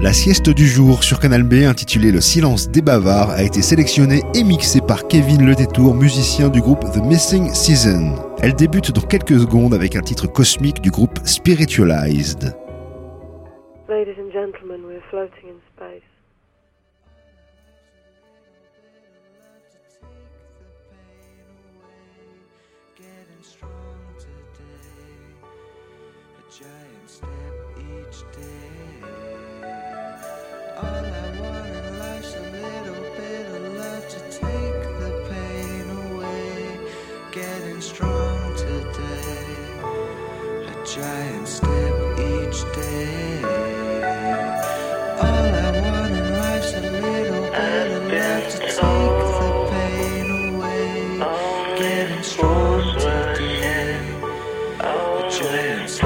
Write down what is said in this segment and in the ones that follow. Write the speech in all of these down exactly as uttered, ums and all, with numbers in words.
La sieste du jour sur Canal B, intitulée Le silence des bavards, a été sélectionnée et mixée par Kevin Le Détour, musicien du groupe The Missing Season. Elle débute dans quelques secondes avec un titre cosmique du groupe Spiritualized. Ladies and gentlemen, we're floating in space. Giant step each day. All I want in life's a little bit of love to take the pain away. Getting strong today. A giant step each day. All I want in life's a little bit of love to take the pain away. Getting strong today. A giant step.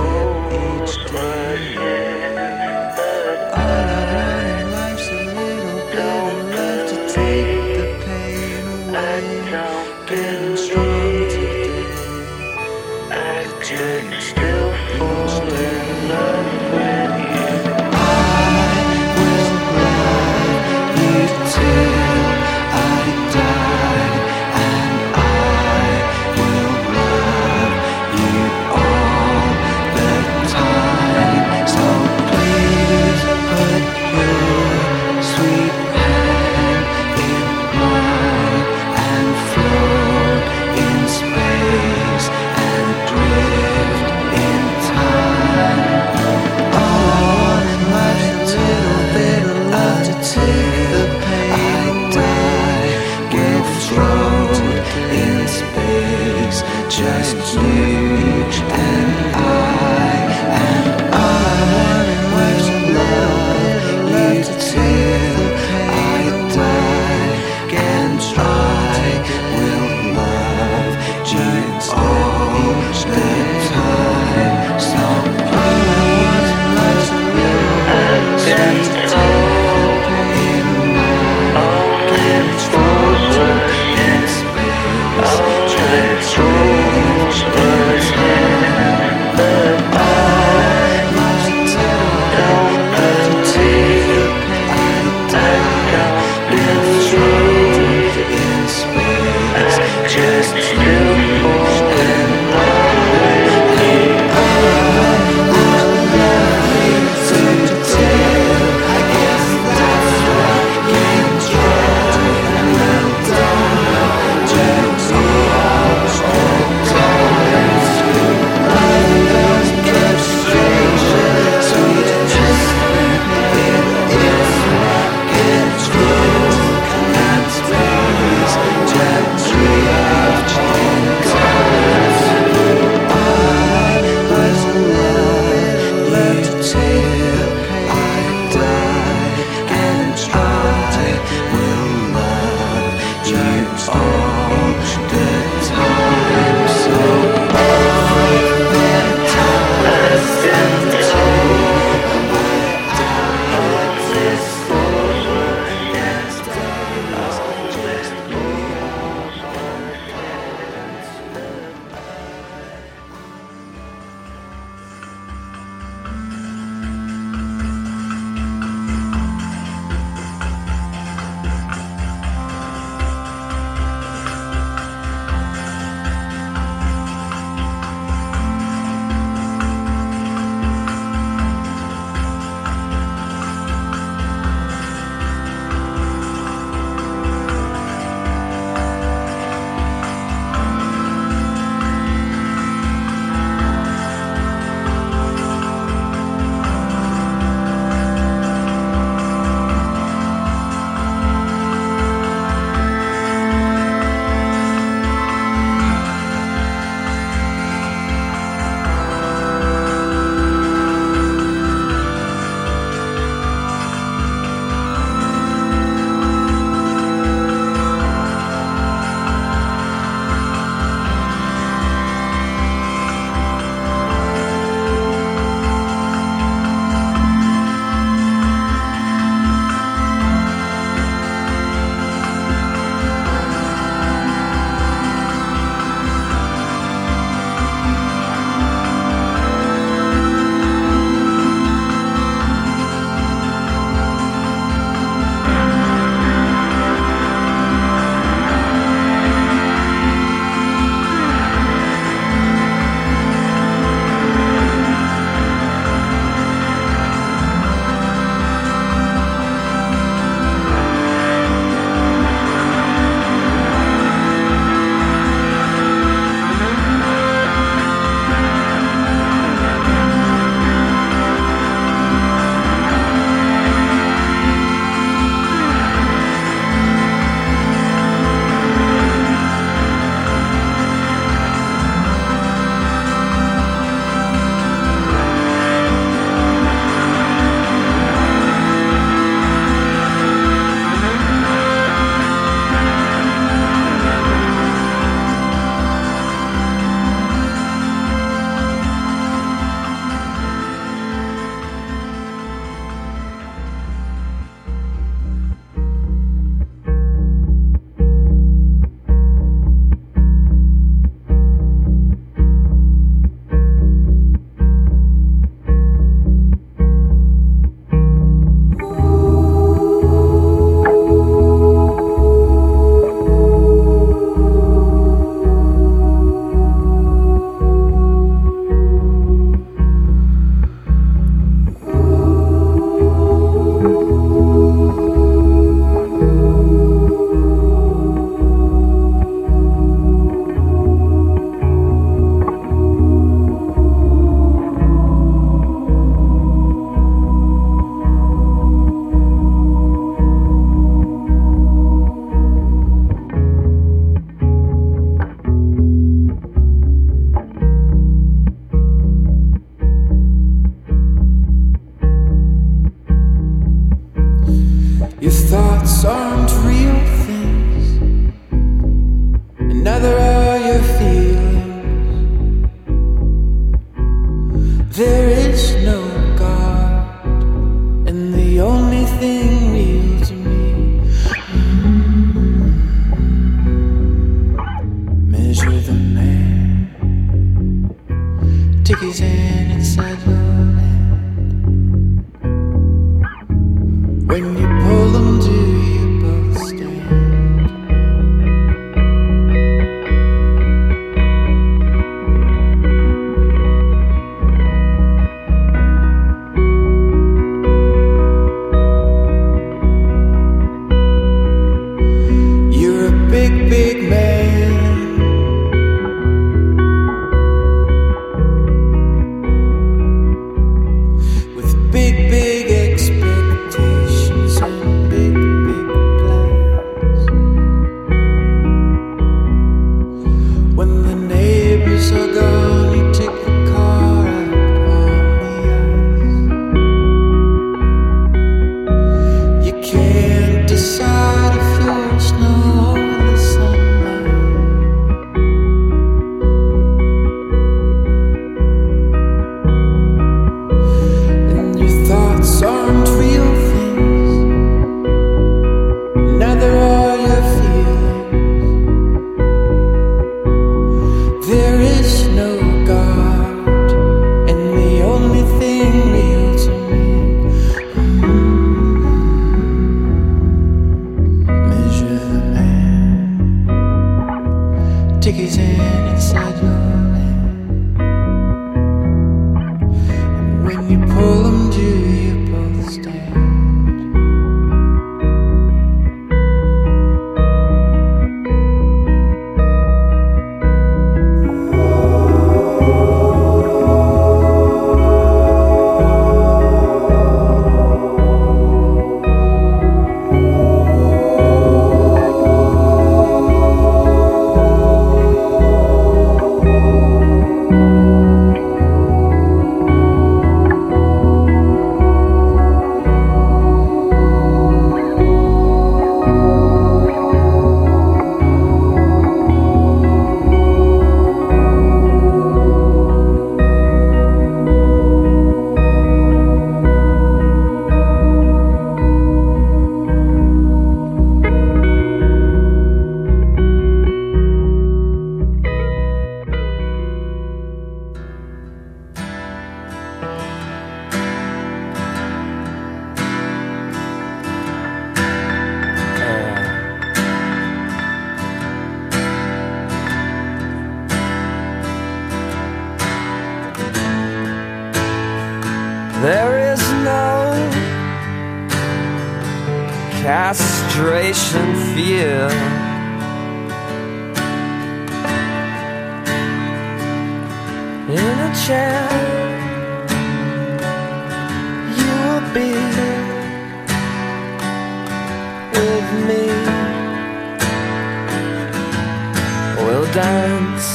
In space and drift in There is no God, and the only thing real to me. Measure the man, take his hand inside your hand. When you pull them, do you both stand? There is no castration fear. In a chair, you'll be with me. We'll dance,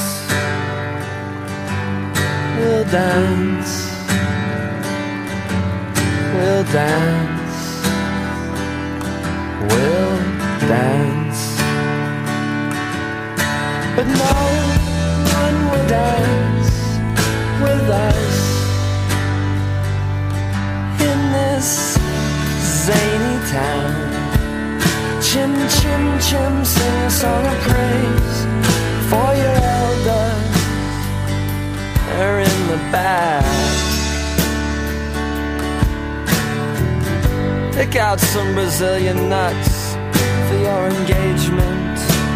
we'll dance. We'll dance, we'll dance. But no one will dance with us in this zany town. Chim, chim, chim, sing a song of praise for your elders. They're in the back. Pick out some Brazilian nuts for your engagement.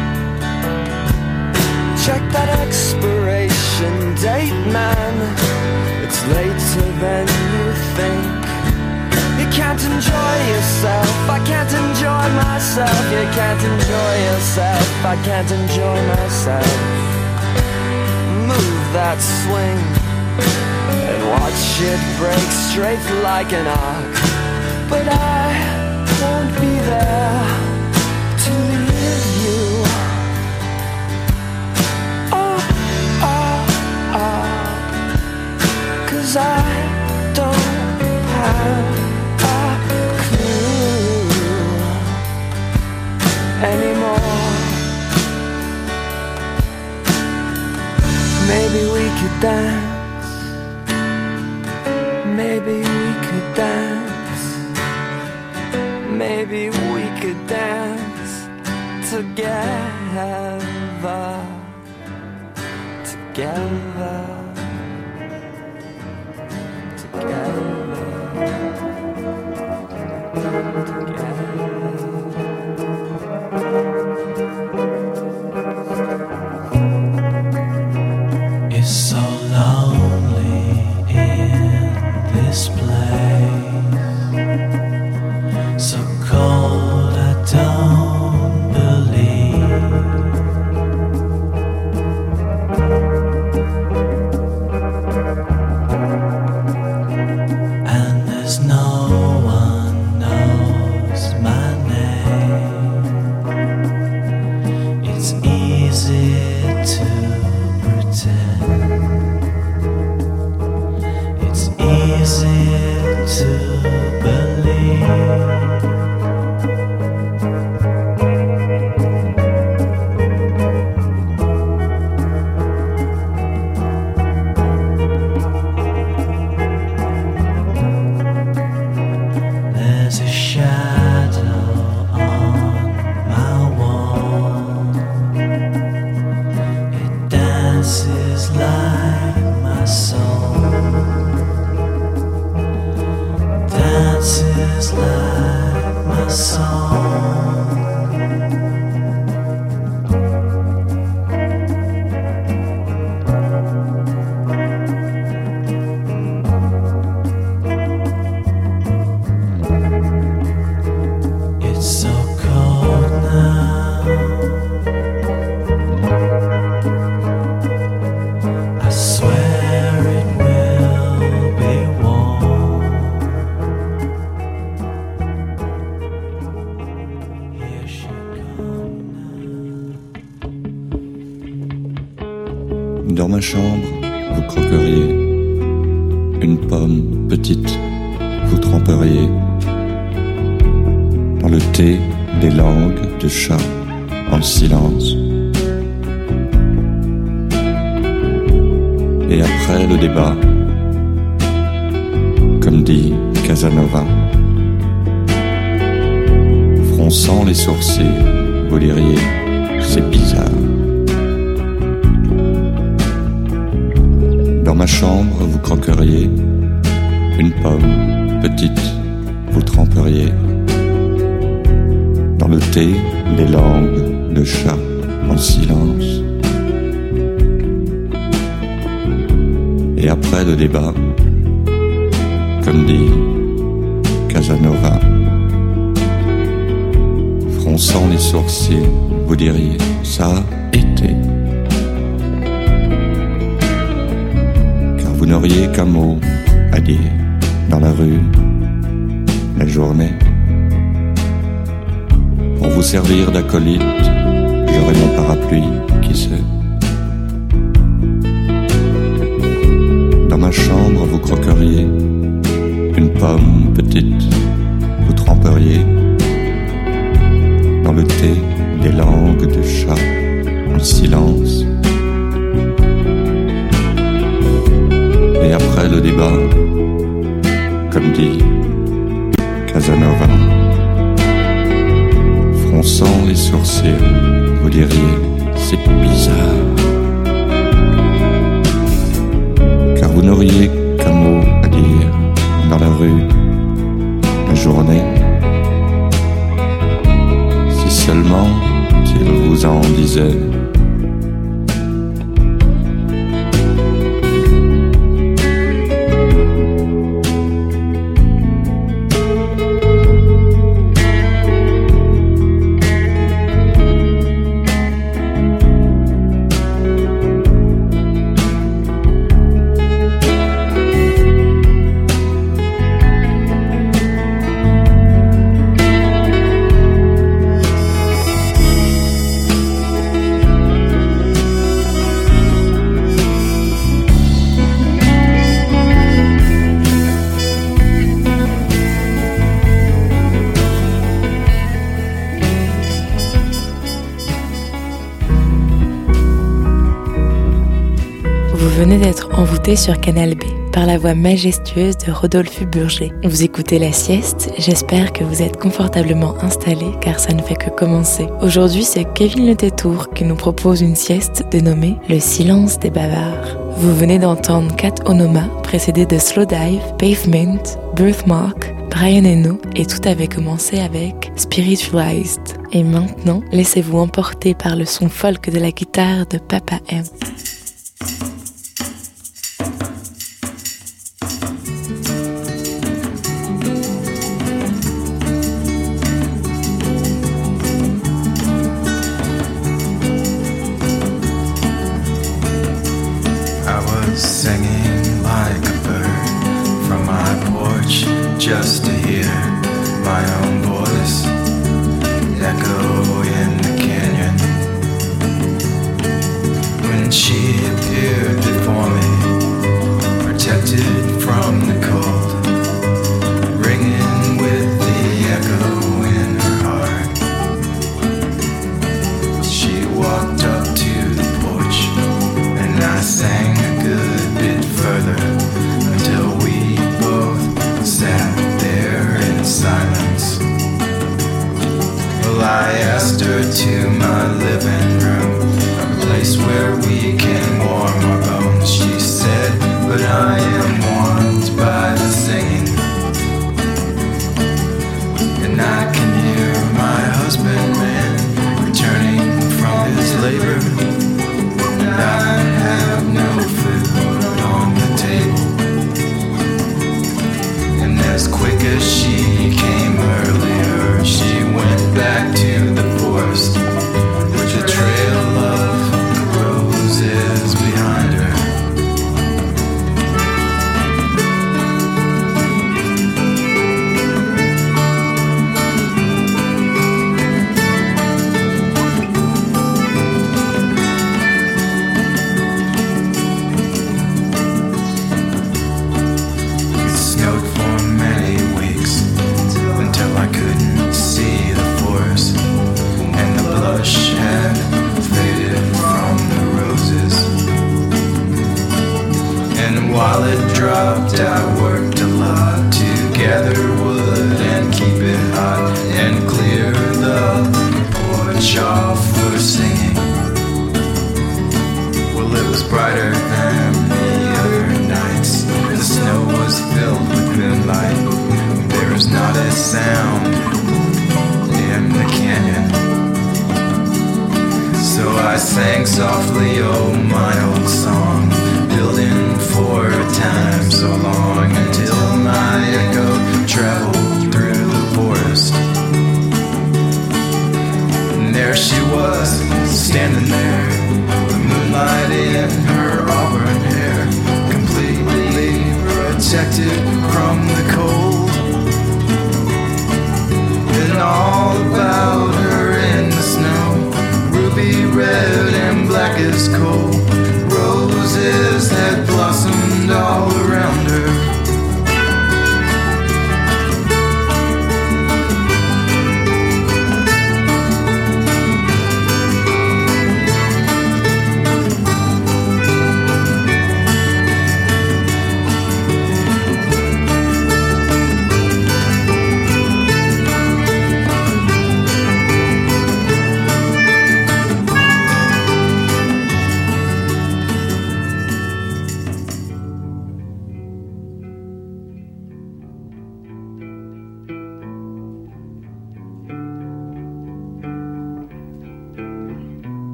Check that expiration date, man. It's later than you think. You can't enjoy yourself, I can't enjoy myself. You can't enjoy yourself, I can't enjoy myself. Move that swing and watch it break straight like an arc. But I won't be there to leave you. Oh, oh, oh. 'Cause I don't have a clue anymore. Maybe we could dance maybe we could dance. Maybe we could dance together, together, together, together. It's so lonely in this place, so cold I don't believe. And there's no one knows my name. It's easy to pretend. It's easy to believe. There's a shadow on my wall. It dances like my soul. Dances like my soul. It's so cold now. I swear it will be warm. Here she comes now. Dans ma chambre, vous croqueriez une pomme petite, vous tremperiez dans le thé des langues de chat en silence. Et après le débat, comme dit Casanova, fronçant les sourcils, vous diriez c'est bizarre. Dans ma chambre, vous croqueriez une pomme petite, vous tremperiez dans le thé des langues de chat en silence. Et après le débat, comme dit Casanova, fronçant les sourcils, vous diriez ça a été. Car vous n'auriez qu'un mot à dire dans la rue, la journée. Pour vous servir d'acolyte, j'aurai mon parapluie, qui sait. Dans ma chambre, vous croqueriez une pomme petite, vous tremperiez dans le thé des langues de chat en silence. Et après le débat, comme dit Casanova, fronçant les sourcils, vous diriez c'est bizarre. Car vous n'auriez qu'un mot à dire dans la rue, la journée. Si seulement il vous en disait. Vous venez d'être envoûté sur Canal B par la voix majestueuse de Rodolphe Burger. Vous écoutez La Sieste, j'espère que vous êtes confortablement installés car ça ne fait que commencer. Aujourd'hui, c'est Kevin Le Tétour qui nous propose une sieste dénommée Le Silence des Bavards. Vous venez d'entendre Kat Onoma, précédé de Slow Dive, Pavement, Birthmark, Brian Eno, et tout avait commencé avec Spiritualized. Et maintenant, laissez-vous emporter par le son folk de la guitare de Papa M. Singing like a bird from my porch just to hear my own voice echo in the canyon. When she appeared before me, protected from the cold, ringing with the echo in her heart, she walked up to the porch and I sang a good bit further until we both sat there in silence. Well, I asked her to my living room, a place where we can warm our bones. She said, but I am warmed by the singing, and I can hear my husband man returning from his labor. And I have no food on the table. And as quick as she came earlier, she went back to the forest with a trail of roses behind her. While it dropped, I worked a lot to gather wood and keep it hot and clear the porch off for singing. Well, it was brighter than the other nights. The snow was filled with moonlight. There was not a sound in the canyon. So I sang softly, oh my old song, building for a time so long until my echo traveled through the forest. And there she was, standing there, the moonlight in her auburn hair, completely protected from the cold. And all about her in the snow, ruby red and black as coal, roses had blossomed all around her.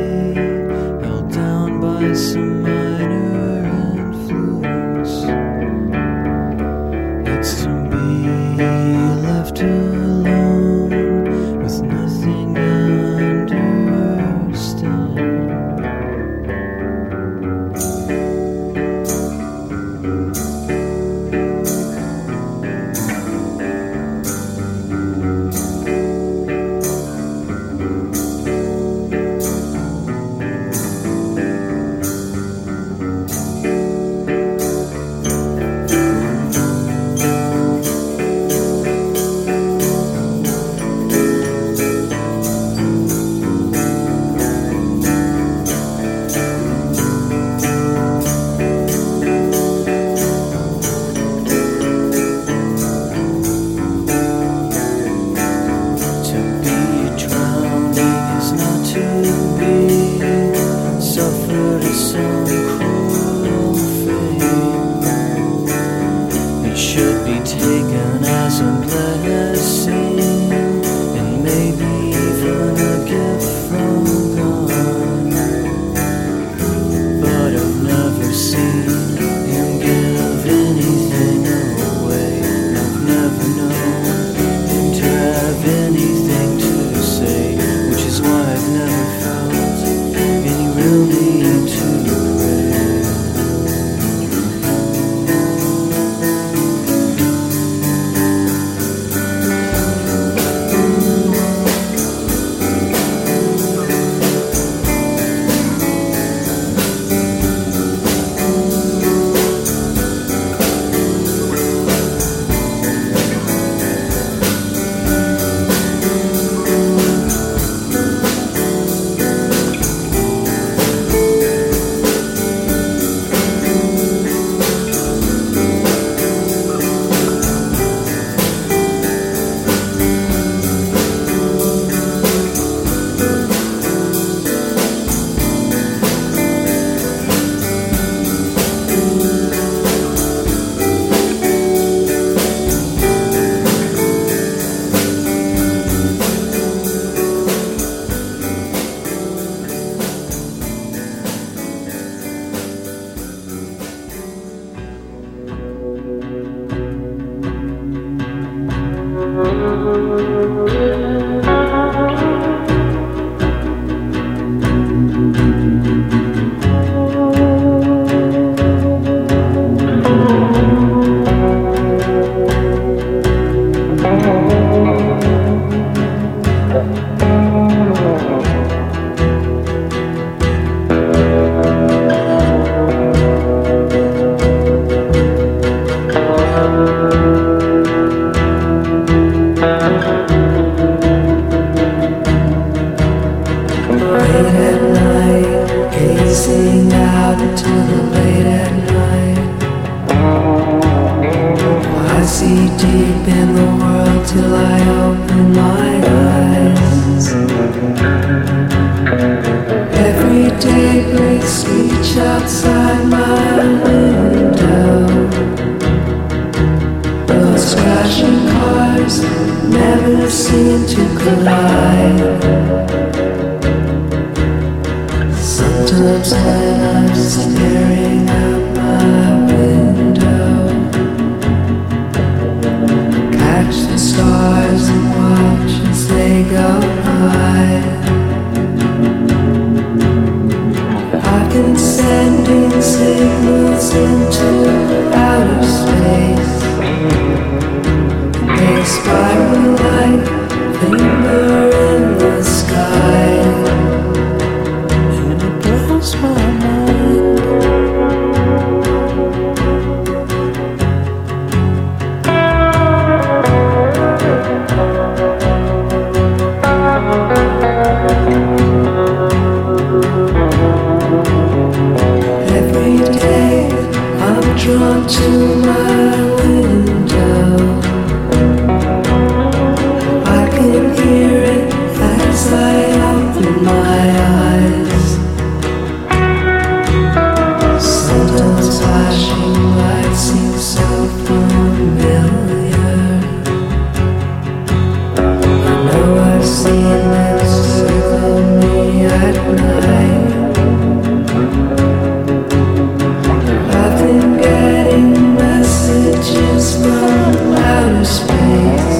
Some minor influence. seem to collide. Sometimes when I'm staring out my window, catch the stars and watch as they go by. I've been sending signals into outer space. They spiral like finger in the sky, and it blows my mind. Every day I'm drawn to my window. I can hear it as I open my eyes. Sometimes flashing lights seem so familiar. I know I've seen them circle me at night. I've been getting messages from outer space.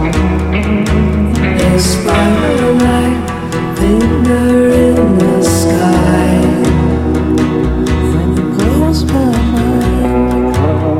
They spiral like finger in the sky, and it blows my mind.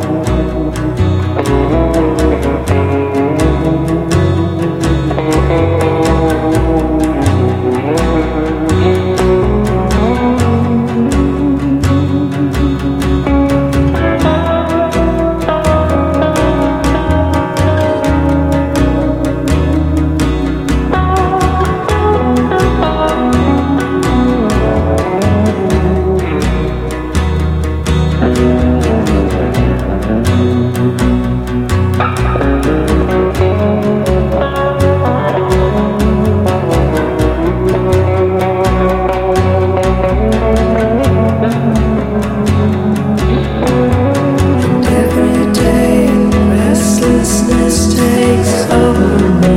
And every day restlessness takes over me.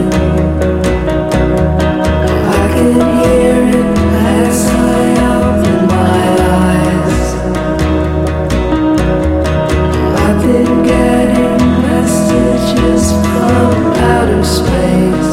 I can hear it as I open my eyes. I've been getting messages from outer space.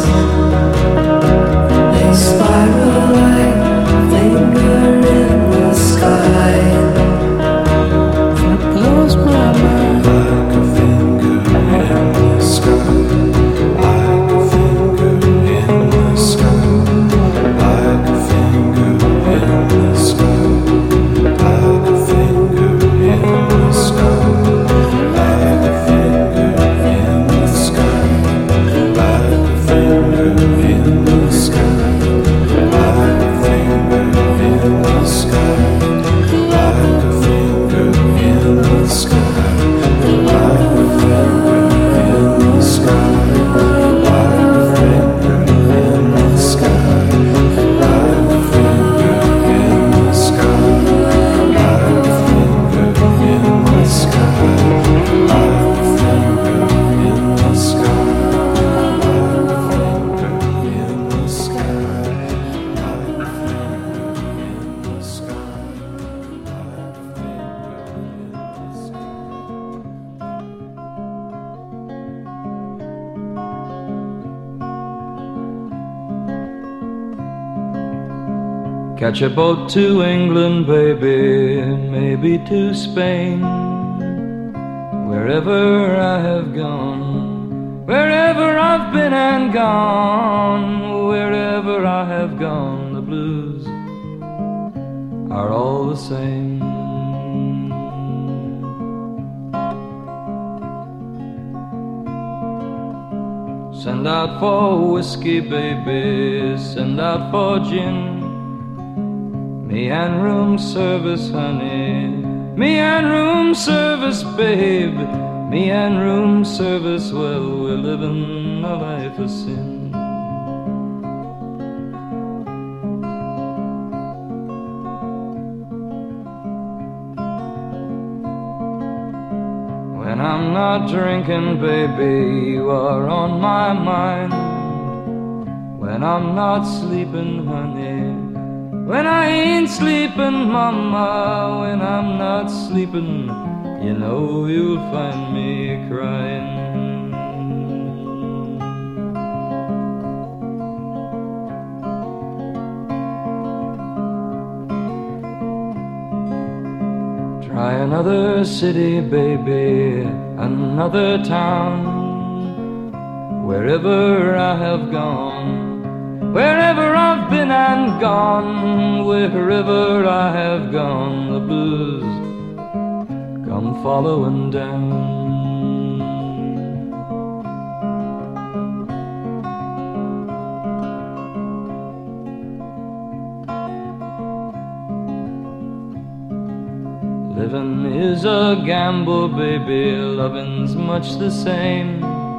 They spiral like finger in the sky, and it blows my mind. Like a finger in the sky, like a finger in the sky, like a finger in the sky, like a finger in the sky, like a finger in the sky, like a finger in the sky, like a finger in the sky, like a finger in the sky, like a finger in the sky, like a finger in the sky, like a finger in the sky, like a finger in the sky, like a finger in the sky, like a finger in the sky, like a finger in the sky. Catch a boat to England, baby, maybe to Spain. Wherever I have gone, wherever I've been and gone, wherever I have gone, the blues are all the same. Send out for whiskey, baby, send out for gin. Me and room service, honey, me and room service, babe. Me and room service, well, we're living a life of sin. When I'm not drinking, baby, you are on my mind. When I'm not sleeping, honey, when I ain't sleeping, mama, when I'm not sleeping, you know you'll find me crying. Try another city, baby, another town. Wherever I have gone, wherever I've been and gone, wherever I have gone, the blues come following down. Living is a gamble, baby, loving's much the same.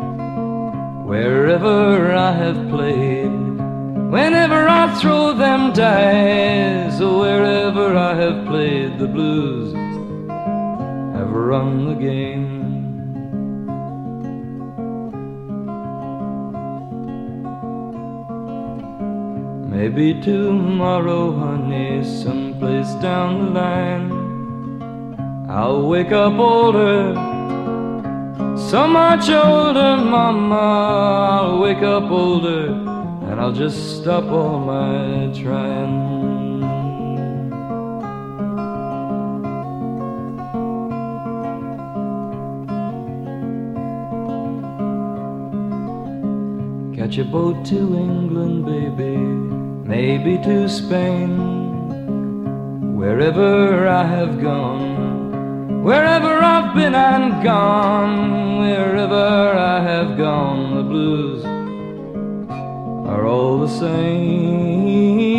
Wherever I have played, whenever I throw them dice, wherever I have played, the blues have run the game. Maybe tomorrow, honey, someplace down the line, I'll wake up older, so much older, mama. I'll wake up older, and I'll just stop all my trying. Catch a boat to England, baby, maybe to Spain. Wherever I have gone, wherever I've been and gone, wherever I have gone, the blues are all the same.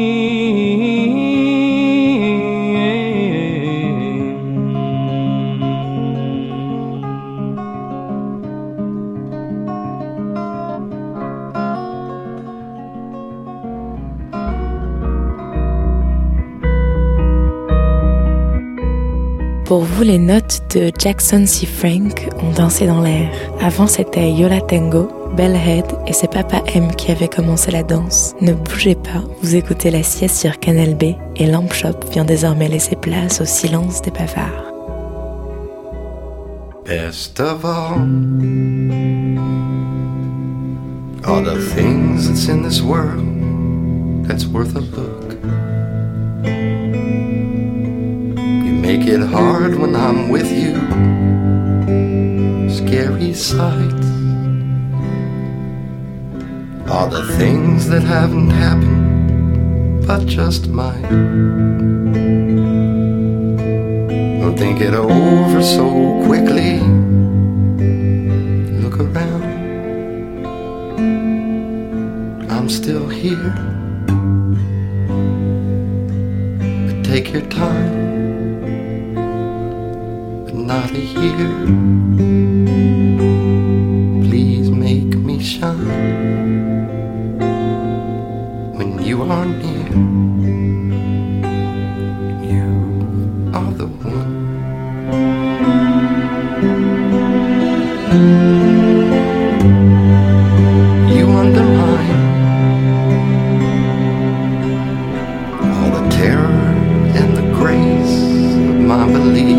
Pour vous, les notes de Jackson C. Frank ont dansé dans l'air. Avant, c'était Yo La Tengo, Bellhead et c'est Papa M qui avait commencé la danse. Ne bougez pas, vous écoutez La Sieste sur Canal B et Lamp Shop vient désormais laisser place au silence des bavards. Best of all, all the things that's in this world that's worth a look. Make it hard when I'm with you. Scary sights. All the things that haven't happened, but just might. Don't think it over so quickly. Look around. I'm still here. But take your time. Not a year. Please make me shine when you are near. You are the one. You undermine all the terror and the grace of my belief.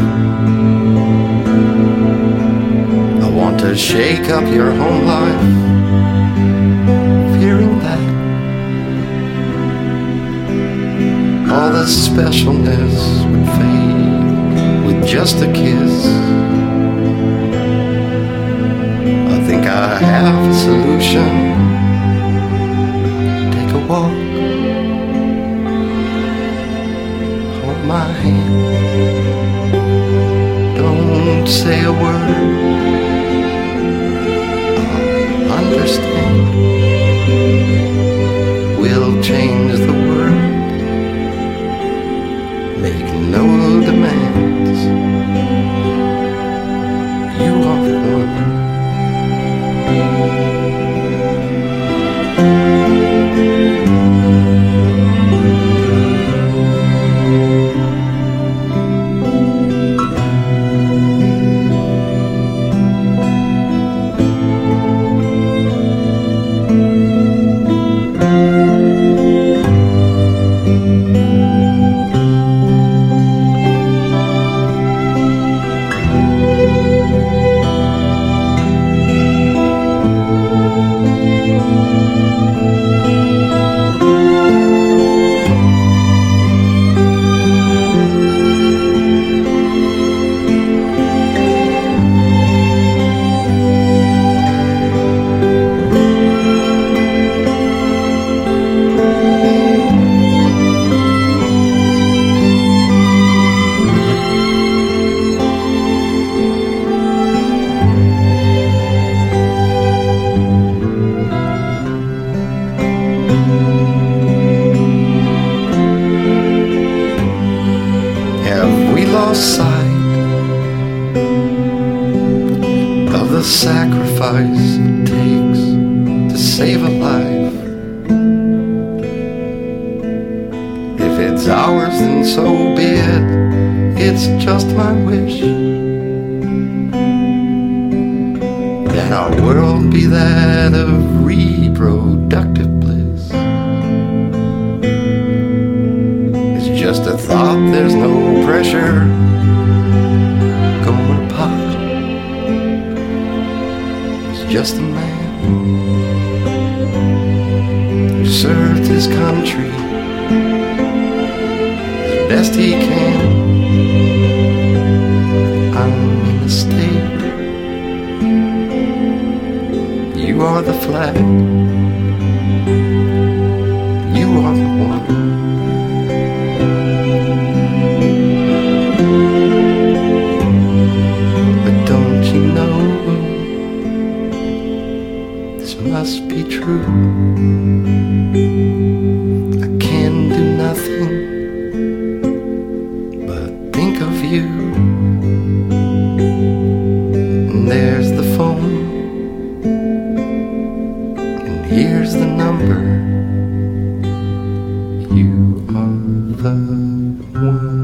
To shake up your home life, fearing that all the specialness would fade with just a kiss. I think I have a solution. Take a walk, hold my hand, don't say a word. Understand, we'll change the world. Make no demands. You are the one. sacrifice it takes to save a life. If it's ours, then so be it. It's just my wish that our world be that of reproductive bliss. It's just a thought, there's no pressure. Going apart. Just a man who served his country as best he can. I'm in the state. You are the flag. You are the one. But don't you know, must be true. I can do nothing but think of you. And there's the phone, and here's the number. You are the one.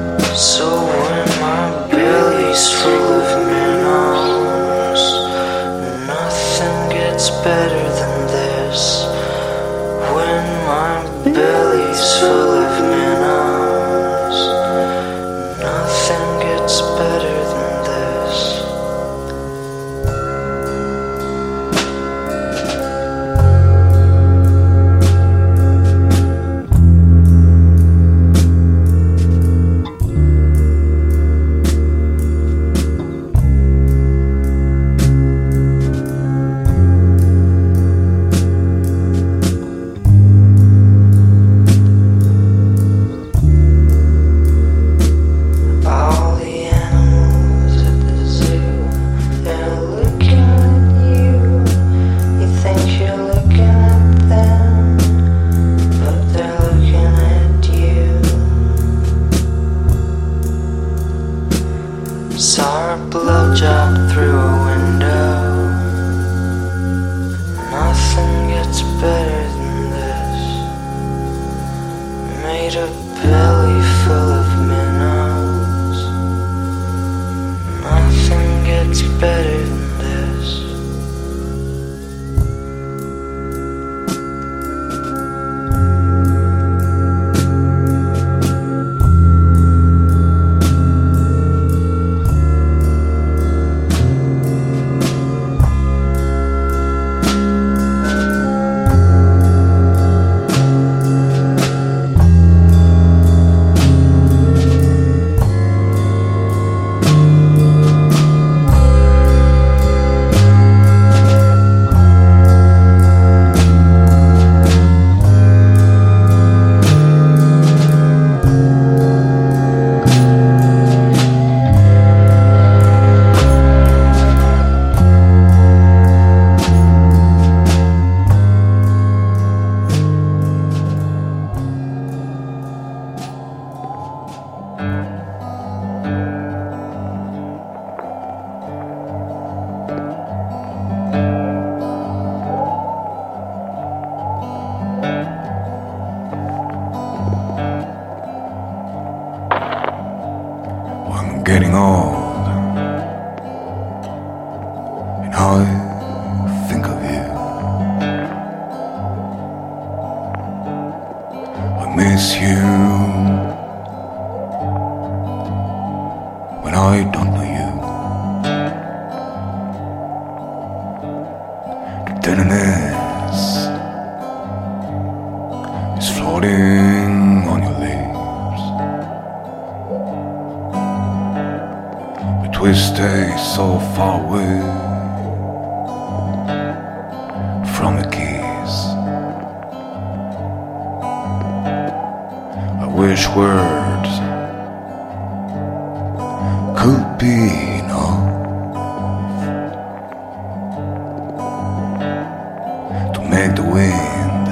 So when my belly's full of minnows, job through a window. Nothing gets better than this. Made a belly full of minnows. Nothing gets better than this. Getting old, and I think of you. I miss you when I don't know you. The tenderness is floating on your lips. We stay so far away from a kiss. I wish words could be enough to make the wind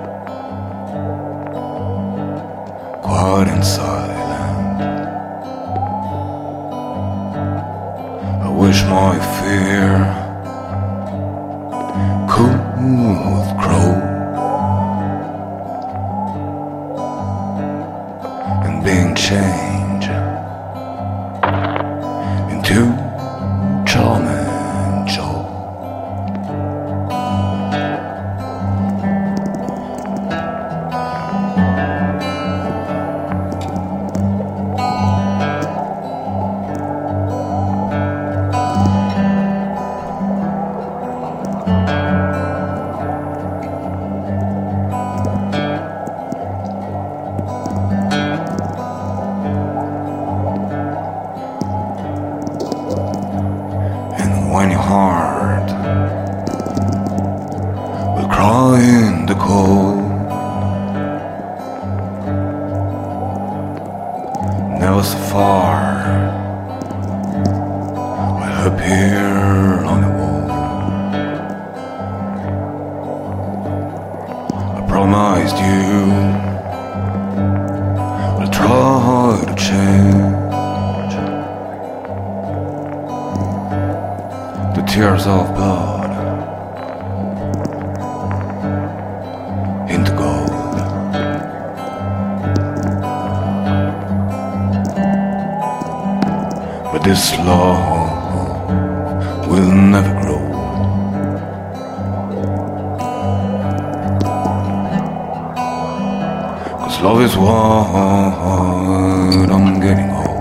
quiet and silent. I wish my fear could grow and being changed into charming Joe. When your heart will cry in the cold, never so far will appear on the wall. I promised you will try to change the tears of blood into gold. But this love will never grow. Cause love is what I'm getting old.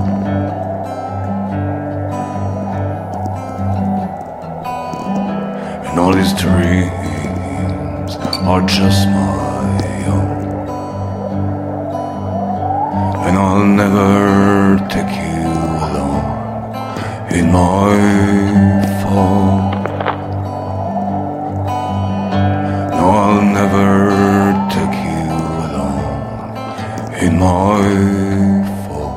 All these dreams are just my own, and I'll never take you along in my fall. No, I'll never take you along in my fall.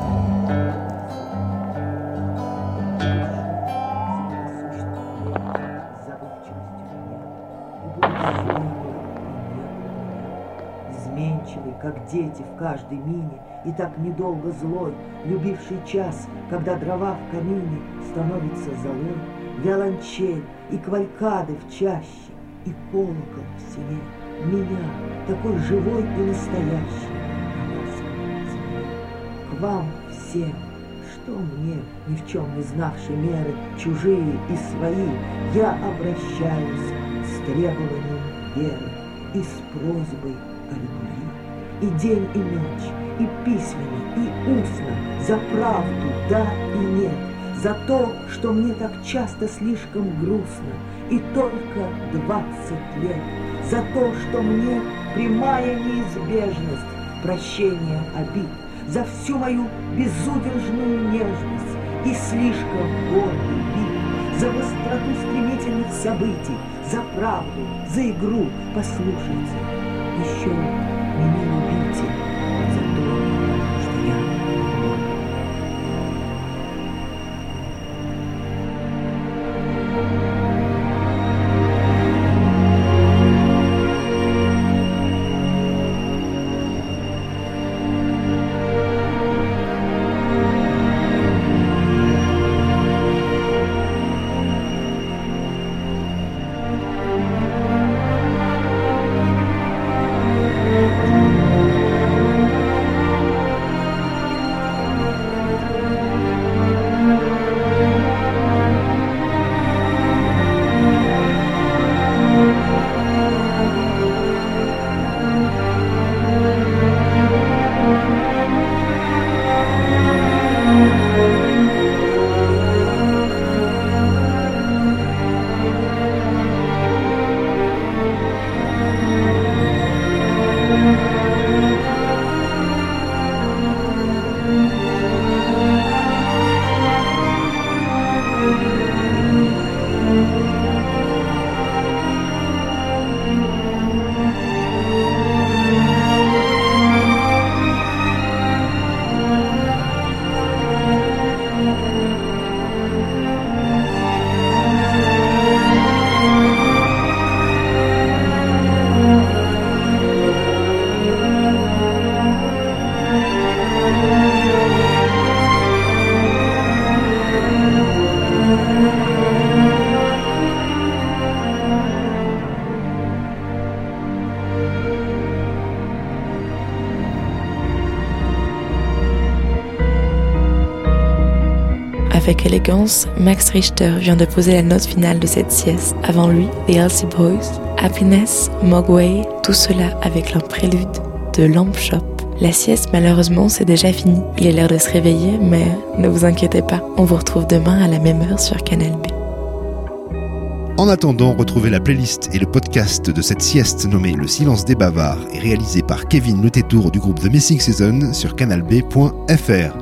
Изменчивый, как дети в каждой мине, и так недолго злой, любивший час, когда дрова в камине становится золой, виолончель и квалькады в чаще, и колокол в селе, меня, такой живой и настоящий, на ласковом земле. К вам всем, что мне, ни в чем не знавшей меры, чужие и свои, я обращаюсь с требованием веры и с просьбой о любви. И день, и ночь, и письменно, и устно, за правду, да и нет, за то, что мне так часто слишком грустно, и только двадцать лет, за то, что мне прямая неизбежность прощения обид, за всю мою безудержную нежность и слишком гордый вид, за быстроту стремительных событий, за правду, за игру, послушайте, еще меня любите за то, что я любовь. Avec élégance, Max Richter vient de poser la note finale de cette sieste. Avant lui, The Elsie Boys, Happiness, Mogwai, tout cela avec leur prélude de Lamp Shop. La sieste, malheureusement, c'est déjà fini. Il est l'heure de se réveiller, mais ne vous inquiétez pas, on vous retrouve demain à la même heure sur Canal B. En attendant, retrouvez la playlist et le podcast de cette sieste nommée Le Silence des Bavards et réalisé par Kevin Le Tétour du groupe The Missing Season sur canal b point f r.